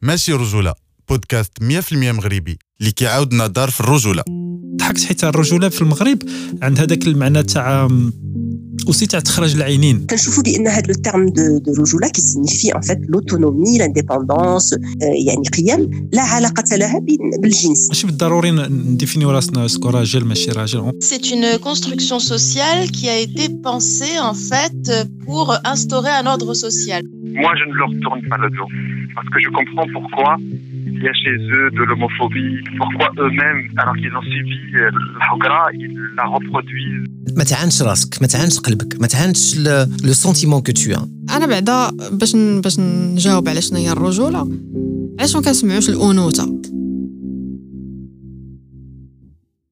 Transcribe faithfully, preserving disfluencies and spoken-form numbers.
ماشي رجولة، بودكاست مية في المية مغربي اللي كيعاودنا دار في الرجولة. ضحكت حيت الرجولة في المغرب عند هذاك المعنى تاع aussi تاع تخرج العينين. كنشوفوا بان هذا لو تيرم دو دو رجوله كي سينيفي ان فيت لوتونومي لانديبوندونس، يعني قيم لا علاقه لها بالجنس. ماشي بالضروري نديفينيو راسنا سكو راجل ماشي راجل. C'est une construction sociale qui a été pensée en fait pour instaurer un ordre social. Moi je ne leur tourne pas le dos parce que je comprends pourquoi il y a chez eux de l'homophobie, pourquoi eux-mêmes alors qu'ils ont subi الحقرة ils la reproduisent. ما تعانش راسك، ما تعانش قلبك، ما تعانش لو سونتيمون كو تو ان. انا بعدا باش باش نجاوب على شنو هي الرجوله، علاش ما كنسمعوش الانوثه؟